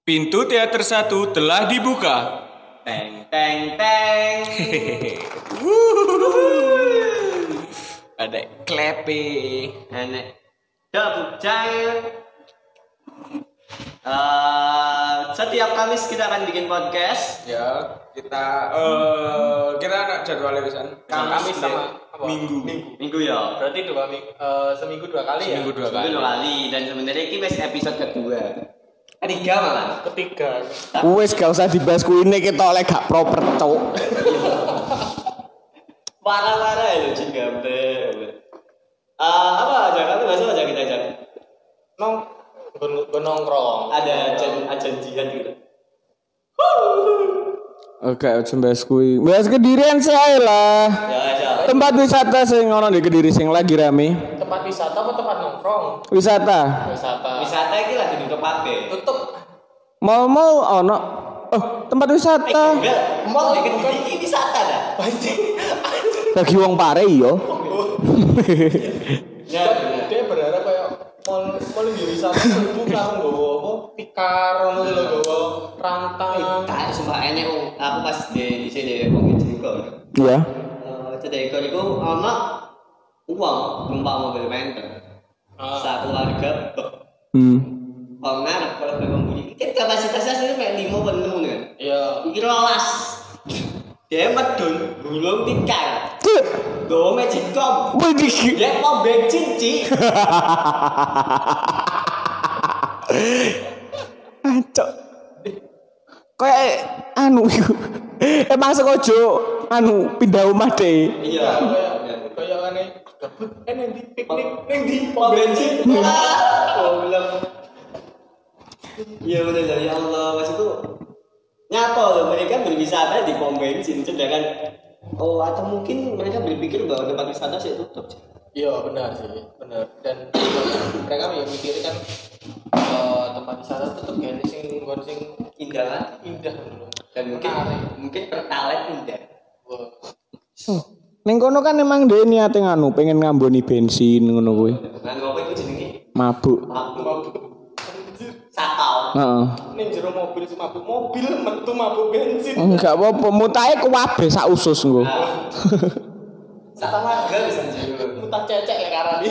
Pintu teater 1 telah dibuka. Teng teng teng. Ada klepe. Enek double giant. Setiap Kamis kita akan bikin podcast. Ya, kita nak jadwalnya pisan. Kamis sama apa? Minggu ya. Berarti seminggu 2 kali ya? Seminggu 2 Seminggu kali. 2 kali dan sebenarnya ini masih episode kedua. Ketiga malah. Ketiga. Wes gak usah dibahas kuine kita oleh gak proper cok. Parah-parah ya lu jin gambar. Apa aja kali bahasa aja kita aja. Nongkrong. Ada janjian gitu. Oke, aja bahas kuwi. Bahas Kedirian saya lah. Ya. Tempat wisata sing ono di Kediri sing lagi rame. Tempat wisata apa tempat nongkrong? Wisata. Wisata iki lagi ditutup kabeh. Tutup. Mal ono. Oh, tempat wisata. Enggak, mall di Kediri iki wisata dah. Bagi wong pare yo. Ya, Dia berharap kayak mall di wisata itu karo nggowo apa? Tikar ngono lho nggowo rantang. tak sumpah enek aku pas di sini wong Jeko. Iya. Cedeko iku ana uang numpak mobil menteng. Satu keluarga kalau ngarep kalau memang bunyi kan kapasitasnya sih kayak 5 penuh kan. Iya. Iki rolas. Dia medun gulung tikar. Gowo Magicom. Widih. Ya mau bensin, Ci. Acok. Kayak anu iku. Emang sengaja pindah omah deh. Iya. Kayak aneh gabut nang di piknik nang di Mau bensin. Goblok. Iya bener ya Allah, maksudku nyata loh mereka berwisata di pom bensin sedangkan atau mungkin mereka berpikir bahwa tempat wisata sih tutup. Iya benar sih, benar. Dan mereka ya mikir kan tempat wisata tetap gini sing Indah kan? indah dulu. Dan mungkin pertalite indah. Ning kono kan emang dia niate pengen ngamboni bensin ngono kuwi. Nah, ngopo iku jenenge? Mabuk. Sakau. Heeh. Ning jero mobil sing mabuk mobil metu mabuk bensin. Enggak apa-apa, mutahe kuwabe sak usus engko. Sakau warga bisa jadi. Mutah cecek lek karani.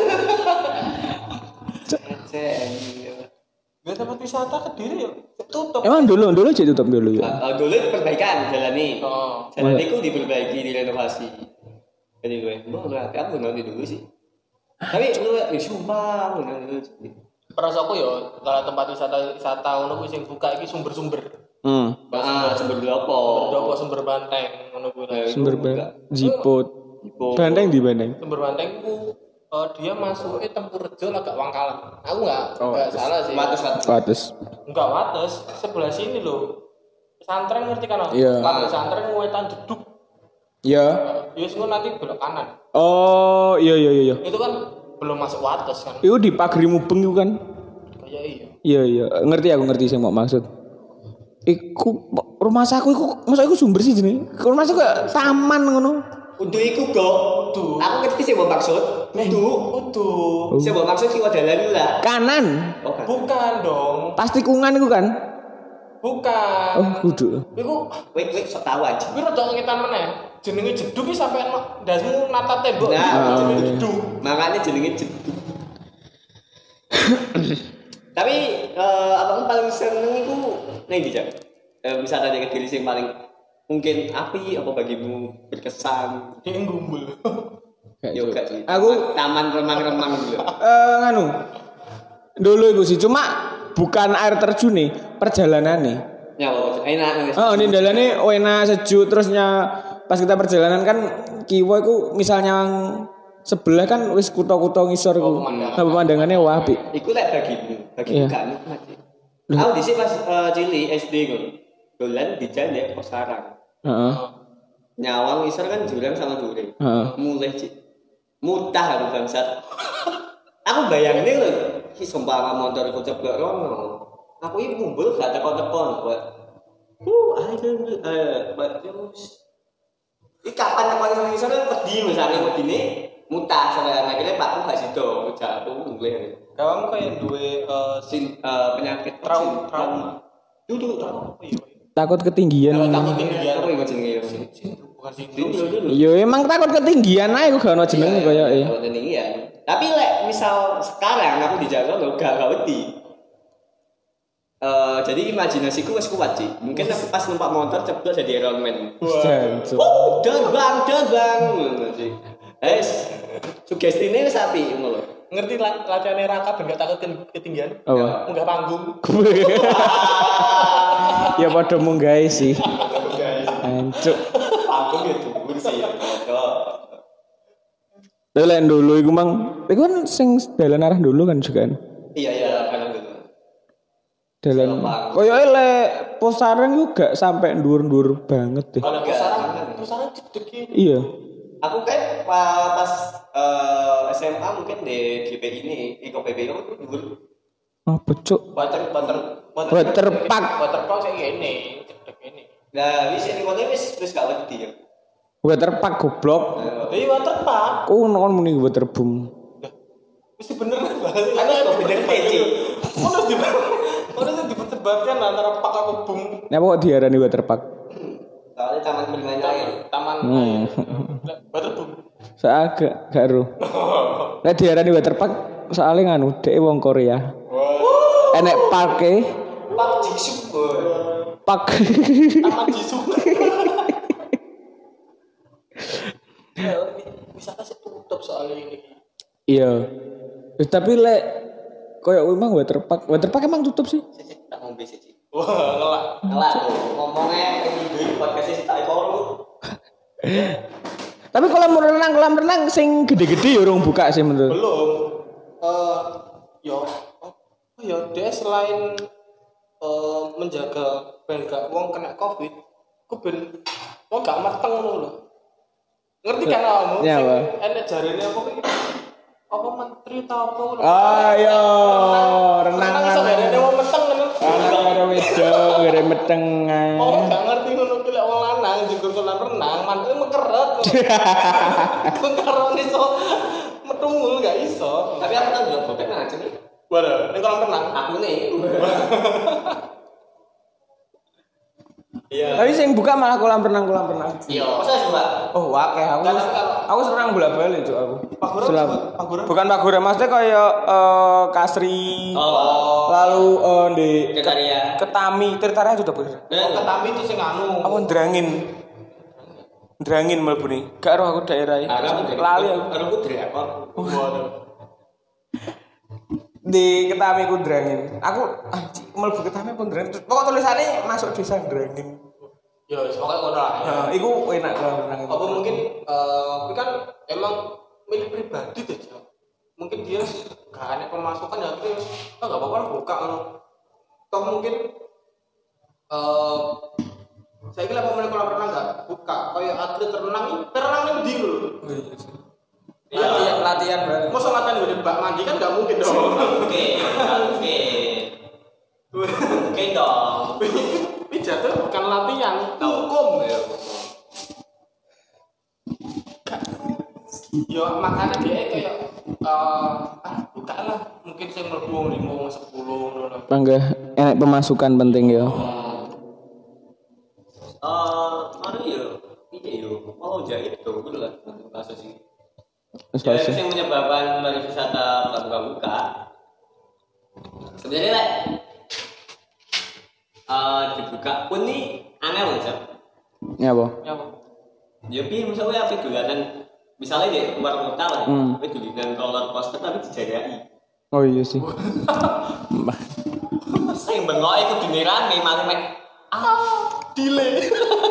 Gak tempat wisata Kediri ya tutup. Emang dulu aja tutup dulu ya. Dulu perbaikan jalan ini. Oh. Jalan itu diperbaiki, direnovasi. Jadi gue, aku nanti dulu sih. Tapi lu sumpah nanti dulu. Perasaanku ya kalau tempat wisata ngono kuwi sing buka iki sumber-sumber. Sumber berapa? Sumber banteng ngono kuwi. Sumber jiput. Banteng di banteng. Sumber banteng ku dia masuknya Tempurjo agak Wangkalan. Aku enggak salah sih. Wates. Enggak Wates, sebelah sini loh. Pesantren ngerti kan? Iya. Kalau pesantren Wetan Jeduk. Iya. Ya sing nanti belok kanan. Oh, iya. Itu kan belum masuk Wates kan. Itu di Pagri Mubeng itu kan? Kayak iya. Iya. Ngerti sing mau maksud. Iku rumah saku iku masa iku sumber sih jenenge. Rumah saku kayak taman ngono. Udah iku kok. Aku ngerti sih mau maksud. Udah. Sih mau maksud kiwa dalan lah. Kanan. Oh, kan. Bukan dong. Pasti kungan iku kan? Bukan. Oh, kudu. Iku Wait, sok tahu aja. kuwi rada ngetan meneh. Jenenge Jeduk iki sampe ndasmu nata tembok. Nah, jenenge Jeduk. Makanya jenenge jeduk. Tapi abang paling seneng itu nih bijak. Wisata dari Kediri sing paling mungkin api apa bagimu berkesan? Dia ngumbul. Yoga sih. Aku taman remang-remang gitu. Dulu iku sih cuma bukan air terjun nih, perjalanan nih. Ya, enak. Oh, ini dalane enak sejuk terusnya pas kita perjalanan kan kiwa iku misalnya sebelah kan wis kutha-kutha ngisor iku. Pemandangannya wah apik. Iku lek bagimu gak nikmat sih. Aku dhisik pas cilik SD ngono. Dolan di jalan ya pos sarang. Heeh. Nyawang ngisor kan jurang sama dure. Mulai Cik. Mutah aku bangsat. Aku bayangin lho, ki sumpah motor iku ceblok rono. Aku iki mumbul gak teko-teko buat. Iki kapan teko ngisor wedi misalnya wedine mutah sampe akhirnya Pakku gak sido, jatuh mulai. Kamu kayak duwe Penyakit trauma. Dulu apa ya? Takut ketinggian. Takut tinggian. Apa iku jenenge ya? Bukan sih. Yo emang takut ketinggian ae gak ono jenenge koyo Takut ketinggian. Tapi lek misal sekarang aku di Jakarta gak wedi. Jadi imajinasiku wis kuat sih. Mungkin aku pas numpak motor ceblok jadi Iron Man. Jancuk. Terbang. Ngono sih. Sugestine wis apik ngono lho. Ngerti latihannya Raka ben gak takut ketinggian? Apa? Munggah panggung. Ya padha munggahe sih. Guys. Jancuk. Panggung ya dhuwur sih. Lek dulu iku mang, iku kan sing dalan arah dulu kan juga kan. Iya kan gitu. Dalan koyoke lek posaran iku gak sampai ndur-ndur banget deh. Kalau pusaran cedek Iya. Aku kan pas SMA mungkin di GP ini, PBI itu dulu. Apa cuk? Waterpark sing ngene, cedek ini. Nah, wis ini kono wis gak wedi ya. Waterpark goblok. Iya waterpark. Ku non muni waterboom. Mesti bener bahasa. Aku kok bener teci. Ono sing diperdebatkan antara pak apa bum. Napa kok diarani waterpark? Soalnya taman bermain air. Taman waterbum. Saya gak ero. Nek diarani waterpark soalnya nganu dhek wong Korea. Enek parke. Pak Jisuk. Pak. Taman Jisuk. Ya, wisata sih tutup soalnya ini. Iya. Tapi lek koyo emang waterpark emang tutup sih. Tak ngombe sih. Wah, Ngelak tuh. Ngomongnya ini podcast sih tak koru. Tapi kolam renang sing gede-gede ya urung buka sih menurut. belum. Dia selain menjaga ben gak wong kena Covid, ku ben wong gak mateng ngono lho. Ngerti kan kamu? Ya, Pak. Enek jarene apa menteri ta apa ngono. Ayo, renang iso jarene wong meteng ngono. anak karo wedok gere meteng. Oh, gak ngerti ngono ki lek wong lanang juga kolam renang, mantuke mengkeret. Karo iso metungul gak iso. Tapi aku tahu juga bokep nang jenenge. Waduh, ning kolam renang. Aku nih. Iya. Tapi sing buka malah kolam renang. Iya. Masa sih, Mbak? Oh, akeh aku senang bolak-balik cuk aku. Paguran. Bukan Paguran, maksudnya kayak Kasri. Oh. Lalu di Tirtaria. Ketami, Tirtaria sudah bener. Ketami itu sing anu. Apa Ndrangin mlebu nih. Gak roh aku daerah iki. Lali aku. Aku drakor. Waduh. Di Ketami ku Ndrangin. Aku anjing mlebu Ketami pun Ndrangin. Pokok tulisannya masuk desa Ndrangin. Ya, pokoknya ngono lah. Nah, iku enak kolam renang itu. Apa mungkin tapi kan emang milik pribadi tuh, Cok. Mungkin dia gak ada pemasukan ya terus gak apa-apa lah buka ngono. Toh mungkin saya kira pemain kolam renang gak buka kayak atlet renang di lho. Latihan bareng. Masa latihan di bak mandi kan gak mungkin dong. Oke dong. Pijat tuh bukan latihan, hukum ya. Ya makanya dia kayak buka lah mungkin saya mlebu 5 10 ngono. Bangga enak pemasukan penting ya. Anu ya, ini yo, mau jahit tuh, betul lah, kasus sih. Jadi Yang menyebabkan pariwisata buka. Sebenarnya lah, dibuka pun nih aneh loh, Cak. Ya apa? Ya apa? Ya piye misalnya apa dolanan misalnya di luar kota lah, tapi dolanan roller coaster tapi dijajaki. Oh iya sih. Sing bengok iku dinirame malah mek Delay.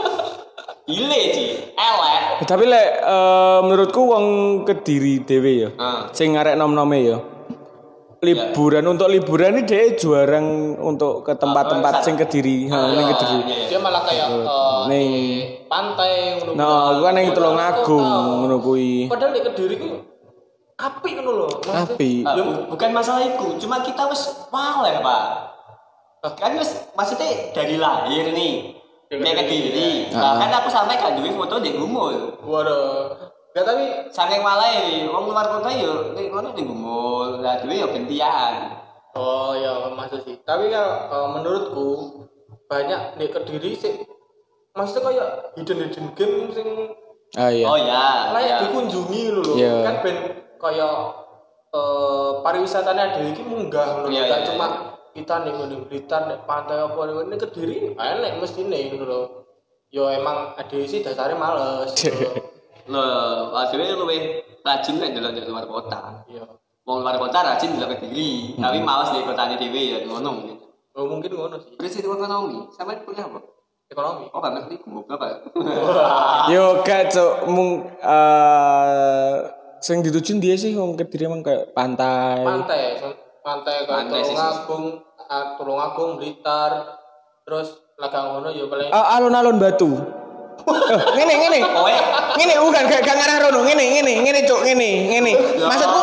Sih, elek. Tapi lek menurutku wong Kediri dhewe ya. Sing ngarek nom-nome ya. Liburan untuk liburan ini dia jarang untuk ke tempat-tempat sing Kediri, ning Kediri. Dia malah kayak ning pantai ngono. Nah, gua ning Tulungagung ngono kuwi. Padahal di Kediri ku apik ngono lho. Apik. Bukan masalah itu, cuma kita wis males, Pak. Kan wis maksudnya dari lahir nih. Kayak Kediri. Bahkan aku sampai gak duwe foto di Gumul. Waduh. Gak tapi Saking malah ini, wong luar kota yo ning kono ning Gumul, lah duwe yo gentian. oh ya maksud sih. Tapi kalau menurutku banyak di Kediri sih. Maksudnya kayak hidden game sing Iya. Oh ya. layak dikunjungi lho. Iya. Kan ben kayak pariwisatanya ada iki munggah lho. Iya, Gak iya, cuma kita nih ngene Blitar nek pantai apa ini Kediri enek mestine ngono lho. Yo emang ada sih dasarnya males. Loh, akhirnya luwih rajin nek jalan di luar kota. Iya. Wong luar kota rajin di Kediri, tapi males di kotane dhewe ya ngono mungkin. Oh, mungkin ngono sih. Terus itu ekonomi, sampe kuliah apa? Ekonomi. Oh, gak ngerti goblok apa. Yo gak cuk sing dituju dia sih wong Kediri emang kayak pantai. Pantai Pantai sih. Tulungagung, Blitar, terus lagang ngono ya paling Alun-alun Batu. Ngene. Kowe Ngene bukan gak ngarah rono. Ngene cuk, ngene. Maksudku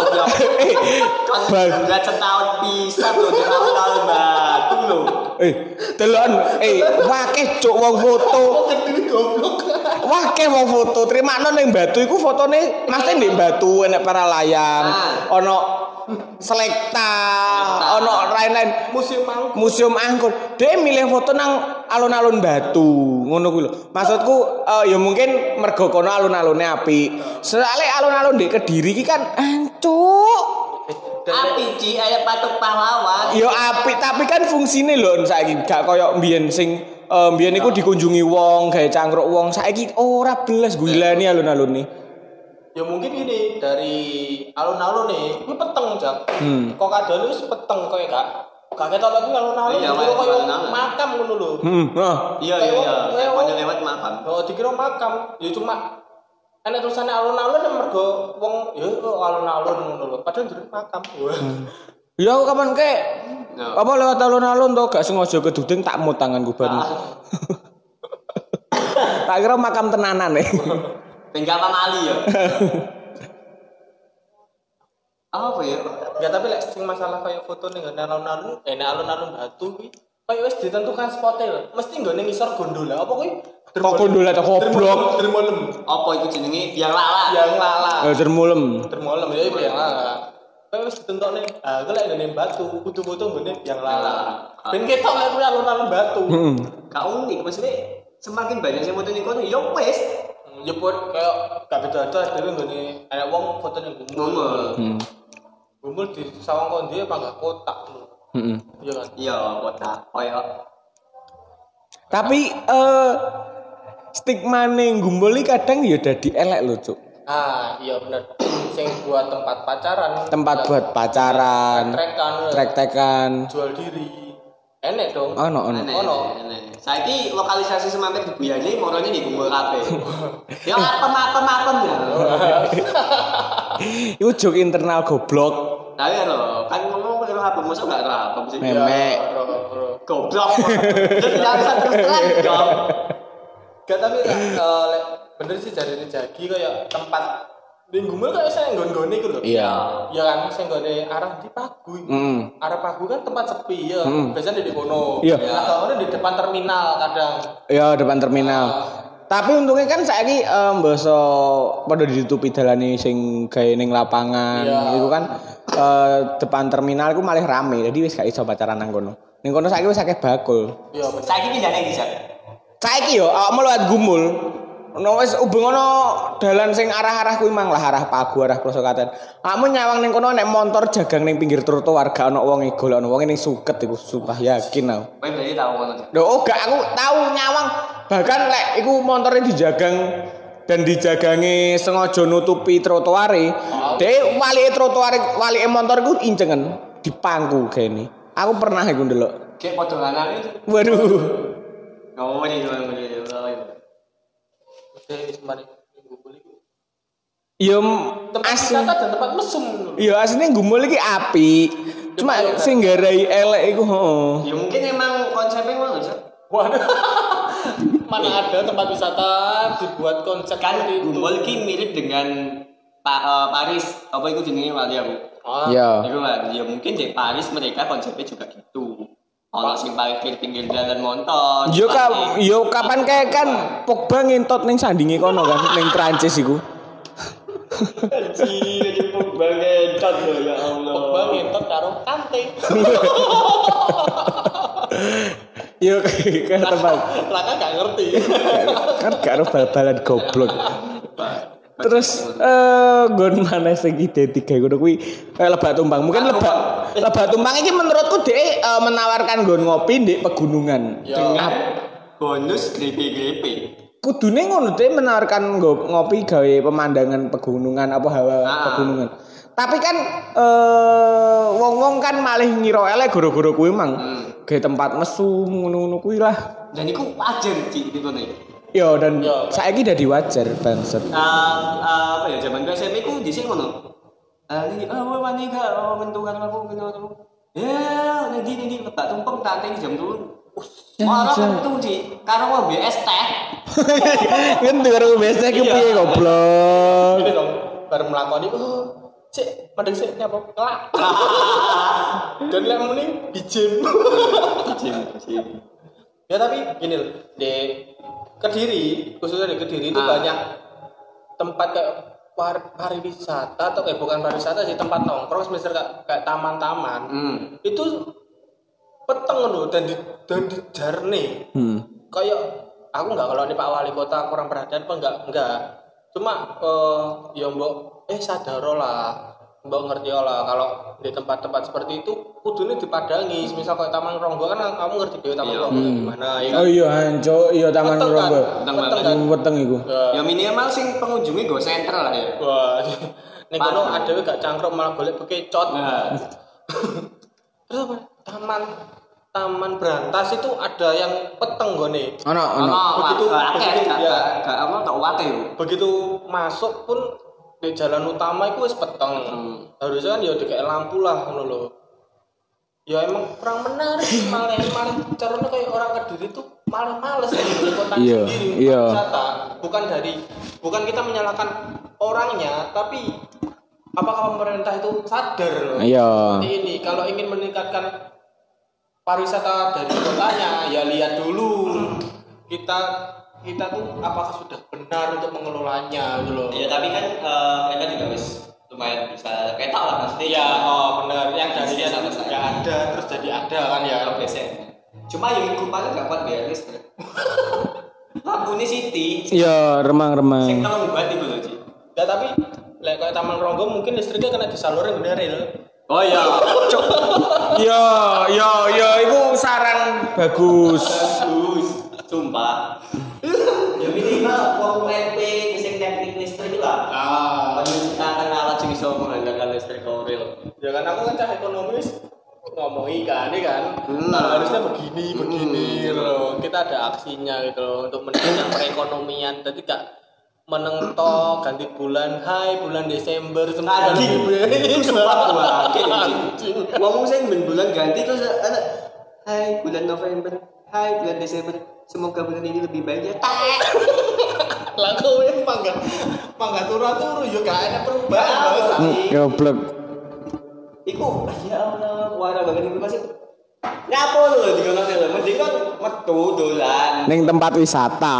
Bangga setahun pisan lho di tahun Batu lho. delon wakeh cuk wong foto. Kediri goblok. Wakeh wong foto. Trimakno ning Batu iku fotone mesti ndek Batu enek para layang, ono Selekta, ono lain-lain museum angkut. Dia milih foto nang alun-alun Batu, ngono kuwi lho. Maksudku ya mungkin mergo kono alun-alune apik. Soale alun-alun di Kediri iki kan ancuk. Api Ci aya patung pahlawan. Ya apik tapi kan fungsine lho saiki gak koyo mbiyen sing mbiyen iku dikunjungi wong, gawe cangkruk wong. Saiki ora belas gilani alun-alun nih. Ya mungkin gini dari alun-alun nih, ini peteng jak. Kok kadang itu peteng kayak gak ketok lagi alun-alun. Iya, Dikira kayak alun-alun. makam ngono lho. Iya. Pokoknya lewat makam. Oh, dikira makam. Ya cuma enek tulisannya alun-alun yang mergo wong ya alun-alun ngono lho. Padahal jero makam. Ya aku kapan kek apa lewat alun-alun to gak sengaja keduding tak mut tanganku ban. Tak kira makam tenanan Tinggal pamali ya. Apa ya? Ya tapi lek sing masalah kayak foto ning alun-alun, alun-alun Batu kuwi kayak wis ditentukan spotnya lho. Mesti nggone ngisor gondola. Apa kuwi? Kok gondola ta goblok. Dermolem. Apa itu jenenge biang lala? Yang lala. Dermulem. Dermolem ya biang lala. Kayak wis ditentokne. Ah, iku lek ngene Batu, kudu foto nggone biang lala. Ben ketok lek kuwi alun-alun Batu. Gak unik maksudnya semakin banyak yang foto ning kono ya wis. Nyebut kayak gak beda-beda dhewe nggone ana wong foto ning gumul. Gumul di sawang kondi apa enggak kotak lho. Iya kan? Iya, kotak. Koyo Tapi stigma ning Gumbul iki kadang ya dadi elek lho, Cuk. Ah, iya bener. Sing buat tempat pacaran. Tempat buat pacaran, trek-trekan, jual diri. Enek dong. ono. saiki lokalisasi semampir di Buyane morone di Gumbul kabeh. Ya apem-apem ya. Iku jok internal goblok. Tapi lho, kan ngomong karo apa mosok gak apa sih. Memek. Goblok. Terus gak bisa terus terang dong. Gak tapi bener sih jarine Jagi kayak tempat di Gumbul kayak saya nggon-nggone iku lho. Iya. Ya kan sing nggone arah di Pagu. Arah Pagu kan tempat sepi ya. Biasanya di kono. Iya. Nah, kalau di depan terminal kadang. Ya depan terminal. Tapi untungnya kan saiki mbasa padha ditutupi dalane sing gawe ning lapangan. Iku kan depan terminal iku malah rame. Jadi wis gak iso pacaran nang kono. Ning kono saiki wis akeh bakul. Iya bener. Saiki pindahne bisa. Saiki yo awakmu lewat Gumbul. Ono wis ubeng ono dalan sing arah-arah kuwi mang lah arah Pagu arah Plosokaten. Awakmu nyawang ning kono nek motor jagang ning pinggir trotoar gak ono wong golek ono wong ning suket iku sumpah yakin aku. Kowe berarti tau ngono. Lho gak aku tahu nyawang bahkan lek iku motornya dijagang dan dijagangi sengaja nutupi trotoare. Dek walike motor iku incengen dipangku gene. Aku pernah iku ndelok. Kayak padha lanang itu. Waduh. Ngomong iki. Semari Gumbul itu Ya tempat wisata dan tempat mesum dulu. ya asline Gumbul iki apik. Cuma sing garai elek iku Ya mungkin emang konsepnya ngono sih. Waduh. Mana ada tempat wisata dibuat konsep Kan seperti itu. Gumbul ki mirip dengan Paris. Apa itu jenenge wali aku? Ya. Iku kan ya mungkin di Paris mereka konsepnya juga gitu. Ono sing parkir pinggir jalan motor. Yo kapan kayak kan Pogba ngentot ning sandinge kono kan ning Prancis iku. Anjir, Pogba ngentot ya Allah. Pogba ngentot karo Kante. Yo kayak tempat. Raka gak ngerti. Kan gak ada bal-balan goblok. Terus nggon mana sing ide tiga ngono kuwi Lebak Tumpang. Mungkin Lebak Tumpang iki menurutku dhek menawarkan nggon ngopi di pegunungan. Dengan bonus grepe-grepe. Kudune ngono dhek menawarkan ngopi gawe pemandangan pegunungan apa hawa pegunungan. Tapi kan wong-wong kan malih ngira elek goro-goro kuwi mang. Gawe tempat mesum ngono-ngono kuwi lah. Dan iku wajar Cik di kono iki. Yo dan saiki dadi wajar bangsat. Apa ya zaman SMP ku dhisik ngono. Ini wani gak mentukan aku ngono. Ya, ning Lebak Tumpeng tante jam 3. Ora metu Cik, karo ngombe es teh. Ngendi karo ngombe es teh ki piye goblok. Ini dong, baru melakoni Cik, madeng sik nyapa? Kelak. Dan lek muni bijem. Ya tapi gini loh, di Kediri, khususnya di Kediri itu banyak tempat kayak pariwisata atau bukan pariwisata sih, tempat nongkrong misalnya kayak taman-taman. Itu peteng loh dan di jarne. Kayak aku enggak kalau ini Pak Wali Kota kurang perhatian apa enggak. Cuma ya mbok sadaro lah. Mbak ngerti lah kalau di tempat-tempat seperti itu kudune dipadangi. Misal kayak Taman Ronggo kan kamu ngerti dhewe Taman Ronggo gimana ya. Oh iya anco, iya Taman Ronggo. Peteng iku. Ya minimal sing pengunjunge go sentral lah ya. Wah. Ning kono adewe gak cangkruk malah golek bekecot. Terus apa? Taman Brantas itu ada yang peteng gone. Ono. Begitu masuk pun di jalan utama itu wis peteng. Harusnya kan ya dikek lampu lah ngono lho. Ya emang kurang menarik malah caranya kayak orang Kediri tuh malah males di kota sendiri wisata. Bukan kita menyalahkan orangnya, tapi apakah pemerintah itu sadar loh. Seperti ini kalau ingin meningkatkan pariwisata dari kotanya ya lihat dulu kita tuh apakah sudah benar untuk mengelolanya gitu loh. Ya tapi kan mereka juga wis lumayan bisa ketok lah pasti. Ya, benar yang dari nggak ada terus jadi ada kan ya. Cuma yang kupangnya gak kuat biar listrik. Lampunya Siti. Iya, remang-remang. Sing telung buat iku lho, Ci. Ya tapi lek kayak Taman Ronggo mungkin listriknya kena disalurin bener ya. Oh iya. Yo, itu saran bagus. Sumpah. Ya minimal wong MP sing teknik listrik lah. Menciptakan alat sing iso mengandalkan listrik real. Ya kan aku kan cah ekonomis ngomong ikan ini kan. Harusnya begini loh. Kita ada aksinya gitu loh untuk menunjang perekonomian. Jadi gak menentok ganti bulan bulan Desember semua itu sumpah ngomong saya bulan ganti terus ada bulan November bulan Desember semoga bulan ini lebih baik ya lah kowe mangga turu yo gak ada perubahan goblok iku ya Allah warna banget iku masih nyapo lho dikono lho mending kan metu dolan ning tempat wisata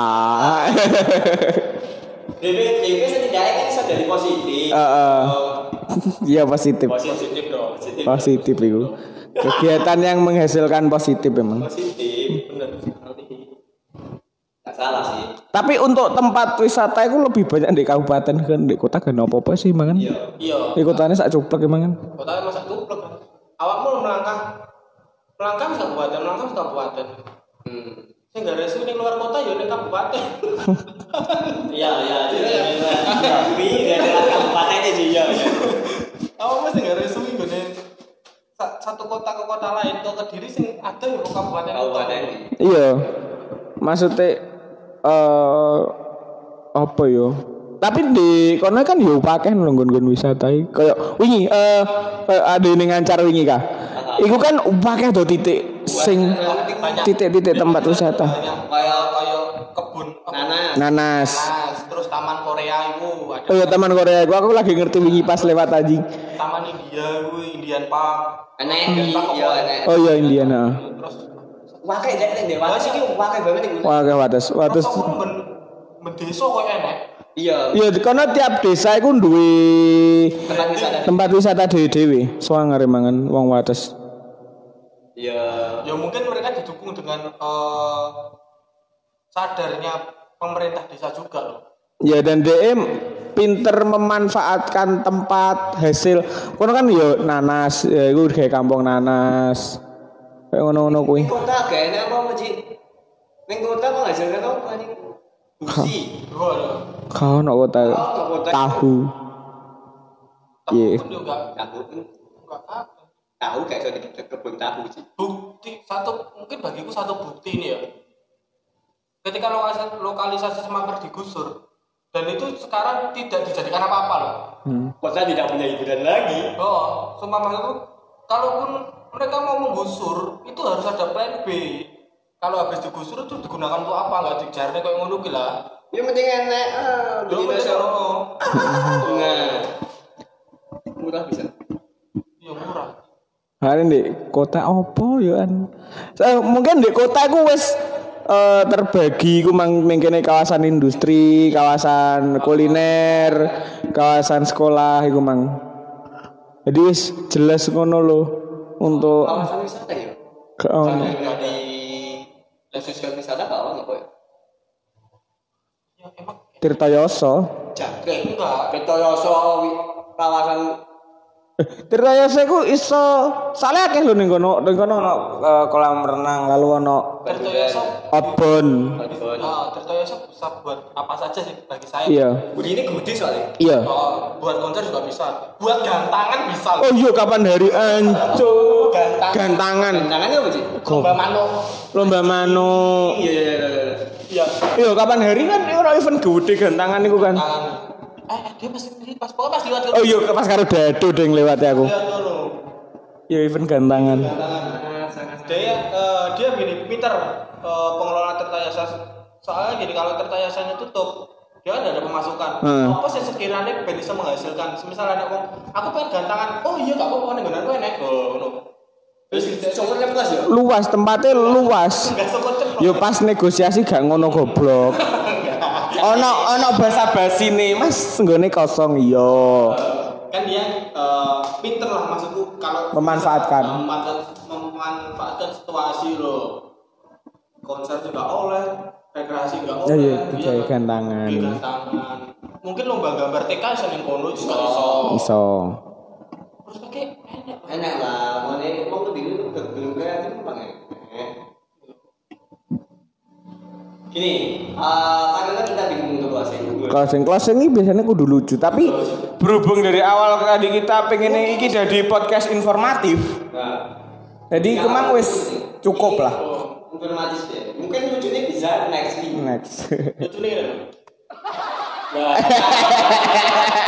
DP setidaknya kan bisa dari positif. Iya positif. Positif dong. Positif itu. Kegiatan yang menghasilkan positif memang. Positif, benar. Gak salah sih. Tapi untuk tempat wisata itu lebih banyak di kabupaten kan di kota kan apa sih mangan? Iya. Di kotanya sak cuplek emang kan. Kotanya masa cuplek kan. Awakmu melangkah kabupaten. Saya nggak resu nih luar kota ya nih kabupaten. Iya. Tapi nggak ada kabupatennya sih ya. Awak masih nggak resu nih gue satu kota ke kota lain ke Kediri sing ada ya kabupaten. Iya. Maksudnya apa yo? Tapi di kono kan yo pakai nggon-nggon wisata kayak wingi ada ning Ngancar wingi kah? Iku kan pakai do titik sing titik-titik tempat wisata. Kayak kebun nanas. Terus Taman Korea itu ada. Oh iya Taman Korea aku lagi ngerti wingi pas lewat anjing. Taman India Indian Park. Oh iya Indian Terus wakai nek Dewata iki wakai banget iku. Wates. Mendeso kok enek. Iya, karena tiap desa itu duwe tempat wisata dewe-dewe. Soang mangan wong Wates. Ya mungkin mereka didukung dengan sadarnya pemerintah desa juga loh. Ya dan DM pinter memanfaatkan tempat hasil. Kono kan yo nanas, ya iku kayak kampung nanas. Kayak ngono-ngono kuwi. Ning kota gak enak apa Ci? Ning kota kok ngajarkan apa nih? Busi. Kau nak kota tahu. Iya. Tahu kayak so di kebun tahu sih. Bukti mungkin bagiku satu bukti ini ya. Ketika lokalisasi Semangkar digusur dan itu sekarang tidak dijadikan apa-apa loh. Kota tidak punya hiburan lagi. Oh, Semangkar itu kalaupun mereka mau menggusur itu harus ada plan B. Kalau habis digusur itu digunakan untuk apa? Enggak dijarne kayak ngono ki lah. Ya penting enak. Nah. Murah bisa. Iya murah. Hari di kota opo yo an. Mungkin di kota ku wis terbagi ku mengkene kawasan industri, kawasan kuliner, kawasan sekolah iku mang. Jadi wis jelas ngono lho untuk kawasan wisata ya. Di sosial wisata kawan apa ya? Ya emang Tirtoyoso. Jangkrik enggak. Tirtoyoso kawasan Tirtoyoso iku iso soalnya akeh lho ning kono ono kolam renang lalu ono Tirtoyoso outbound. Tirtoyoso bisa buat apa saja sih bagi saya. Iya. begini gede soalnya. Iya. Buat konser juga bisa. Buat gantangan bisa. Oh iya kapan hari anco gantangan. Gantangannya apa sih? Lomba mano. Iya. Iya kapan hari kan ora event gede gantangan iku kan. Dia pas lewat. Oh iya pas karo dado ding lewat aku. Lihat dulu. Ya event gantangan. Dia gini pinter pengelola Tirtayasa. Soalnya gini kalau Tirtayasanya tutup dia kan ada pemasukan. Apa sih sekiranya bisa menghasilkan? Misal ada aku pengen gantangan. Oh iya gak apa-apa nih gantangan enak. Luas tempatnya luas. Yo pas negosiasi gak ngono goblok. Ono basa-basi nih Mas nggone kosong iya. Kan dia pinter lah maksudku kalau memanfaatkan situasi loh. Konser juga oleh, rekreasi juga oleh. Iya, kayak gantangan. Mungkin lomba gambar TK yang kono juga iso. Terus pakai enak lah, mau lebih belum kreatif bang ya. Gini, karena kita bingung untuk closing ini biasanya kudu lucu, tapi berhubung dari awal tadi kita pengen iki jadi podcast informatif. Jadi kemang wis cukup lah. Informatif ya. Mungkin lucunya bisa next. Lucunya